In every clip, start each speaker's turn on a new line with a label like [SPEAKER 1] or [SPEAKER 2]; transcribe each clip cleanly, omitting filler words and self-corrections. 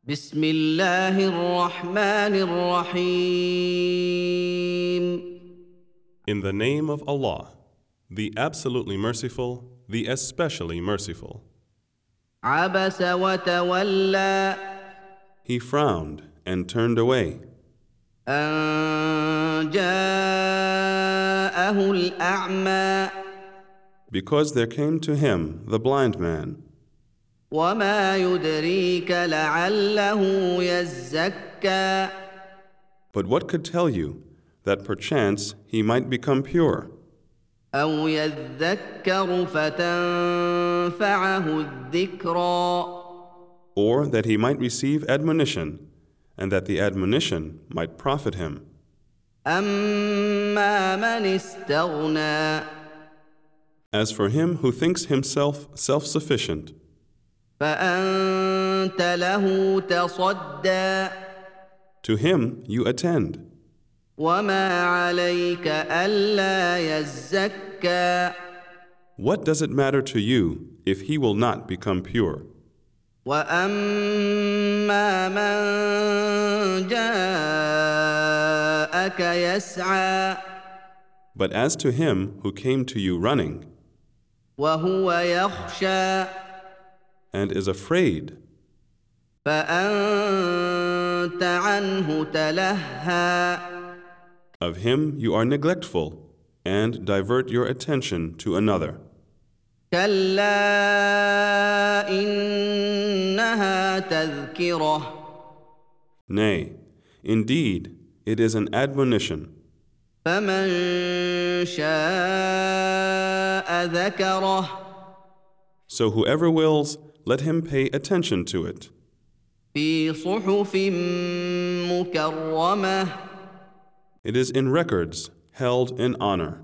[SPEAKER 1] بسم الله الرحمن الرحيم.
[SPEAKER 2] In the name of Allah, the absolutely merciful, the especially merciful.
[SPEAKER 1] عبس وتولى
[SPEAKER 2] He frowned and turned away
[SPEAKER 1] أن جاءه الأعمى
[SPEAKER 2] because there came to him the blind man.
[SPEAKER 1] وما يدريك لعله يزكى
[SPEAKER 2] But what could tell you that perchance he might become pure,
[SPEAKER 1] أو يذكر فتنفعه الذكرى
[SPEAKER 2] or that he might receive admonition, and that the admonition might profit him?
[SPEAKER 1] أما من استغنى
[SPEAKER 2] As for him who thinks himself self-sufficient,
[SPEAKER 1] فأنت له تصدى
[SPEAKER 2] to him you attend,
[SPEAKER 1] وما عليك ألا يزكى
[SPEAKER 2] What does it matter to you if he will not become pure?
[SPEAKER 1] وأما من جاءك يسعى
[SPEAKER 2] But as to him who came to you running
[SPEAKER 1] وهو يخشى
[SPEAKER 2] and is afraid,
[SPEAKER 1] فأنت عنه تلهى
[SPEAKER 2] of him you are neglectful and divert your attention to another.
[SPEAKER 1] كلا إنها تذكرة
[SPEAKER 2] Nay, indeed, it is an admonition.
[SPEAKER 1] فمن شاء ذكره
[SPEAKER 2] So whoever wills, let him pay attention to it.
[SPEAKER 1] في صحف مكرمة
[SPEAKER 2] It is in records held in honor,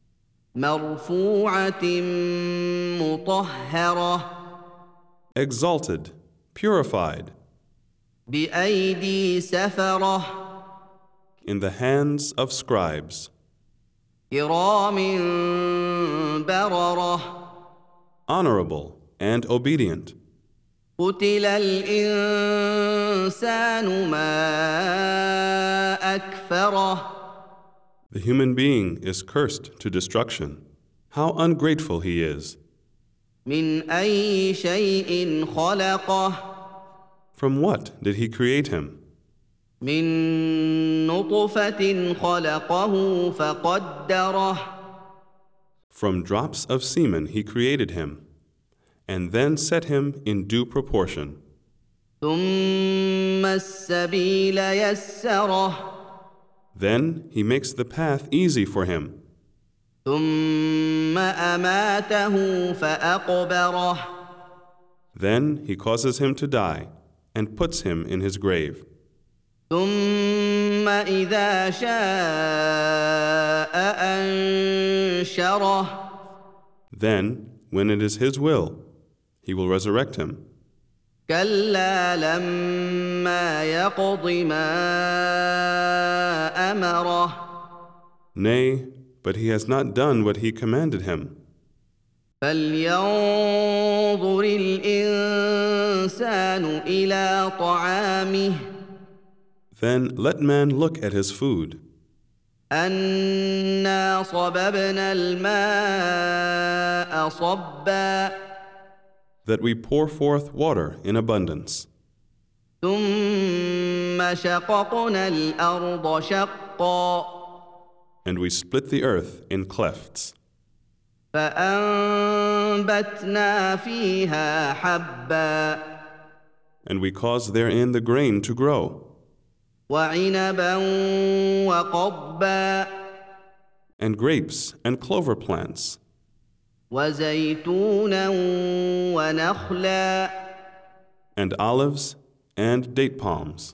[SPEAKER 1] مرفوعة مطهرة
[SPEAKER 2] exalted, purified,
[SPEAKER 1] بأيدي سفرة
[SPEAKER 2] in the hands of scribes,
[SPEAKER 1] كرام بررة
[SPEAKER 2] honorable and obedient.
[SPEAKER 1] قتل الإنسان ما أكفره
[SPEAKER 2] The human being is cursed to destruction. How ungrateful he is.
[SPEAKER 1] من أي شيء خلقه
[SPEAKER 2] From what did he create him?
[SPEAKER 1] من نطفة خلقه فقدره
[SPEAKER 2] From drops of semen he created him, and then set him in due proportion.
[SPEAKER 1] ثم السبيل يسره
[SPEAKER 2] Then he makes the path easy for him.
[SPEAKER 1] ثم أماته فأقبره
[SPEAKER 2] Then he causes him to die and puts him in his grave.
[SPEAKER 1] ثم إذا شاء أنشره
[SPEAKER 2] Then, when it is his will, he will resurrect him.
[SPEAKER 1] كلا لما يقض ما أمره
[SPEAKER 2] Nay, but he has not done what he commanded him.
[SPEAKER 1] فلينظر الإنسان إلى طعامه
[SPEAKER 2] Then let man look at his food.
[SPEAKER 1] أنا صببنا الماء صبا
[SPEAKER 2] That we pour forth water in abundance.
[SPEAKER 1] ثم شققنا الأرض شقا
[SPEAKER 2] And we split the earth in clefts.
[SPEAKER 1] فأنبتنا فيها حبا
[SPEAKER 2] And we cause therein the grain to grow.
[SPEAKER 1] وعنبا وقضبا
[SPEAKER 2] And grapes and clover plants.
[SPEAKER 1] وزيتونا ونخلا
[SPEAKER 2] And olives and date palms.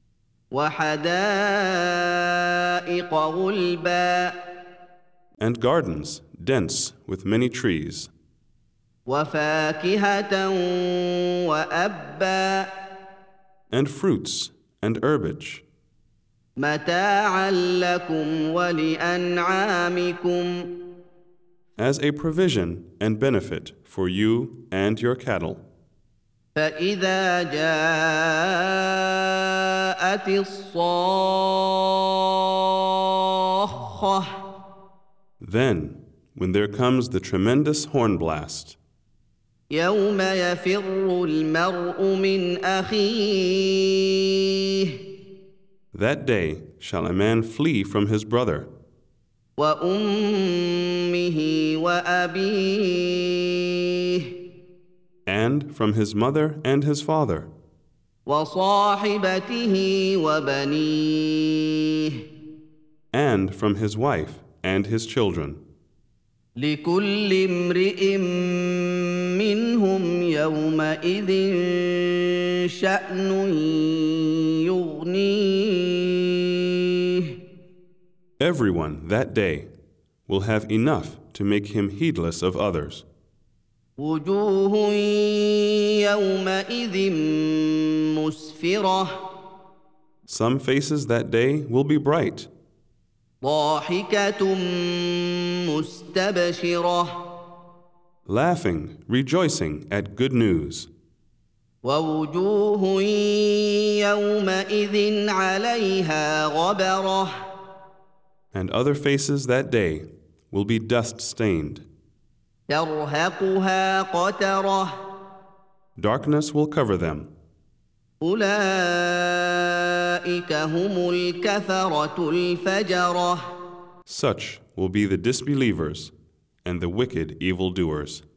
[SPEAKER 1] وحدائق غلبا
[SPEAKER 2] And gardens dense with many trees.
[SPEAKER 1] وفاكهة وأبا
[SPEAKER 2] And fruits and herbage.
[SPEAKER 1] متاعا لكم ولأنعامكم
[SPEAKER 2] As a provision and benefit for you and your cattle.
[SPEAKER 1] فإذا جاء جاءت الصاخة
[SPEAKER 2] Then, when there comes the tremendous horn blast,
[SPEAKER 1] يوم يفر المرء من أخيه
[SPEAKER 2] that day shall a man flee from his brother,
[SPEAKER 1] وأمه وأبيه
[SPEAKER 2] and from his mother and his father,
[SPEAKER 1] وصاحبته وبنيه
[SPEAKER 2] and from his wife and his children.
[SPEAKER 1] لكل امرئ منهم يومئذ شأن يغنيه
[SPEAKER 2] Everyone that day will have enough to make him heedless of others.
[SPEAKER 1] وجوه يومئذ مسفرة
[SPEAKER 2] Some faces that day will be bright,
[SPEAKER 1] ضاحكة مستبشرة
[SPEAKER 2] laughing, rejoicing at good news,
[SPEAKER 1] ووجوه يومئذ عليها غبرة
[SPEAKER 2] and other faces that day will be dust-stained.
[SPEAKER 1] ترهقها قترة
[SPEAKER 2] Darkness will cover them.
[SPEAKER 1] أولئك هم الكفرة الفجرة
[SPEAKER 2] Such will be the disbelievers and the wicked evildoers.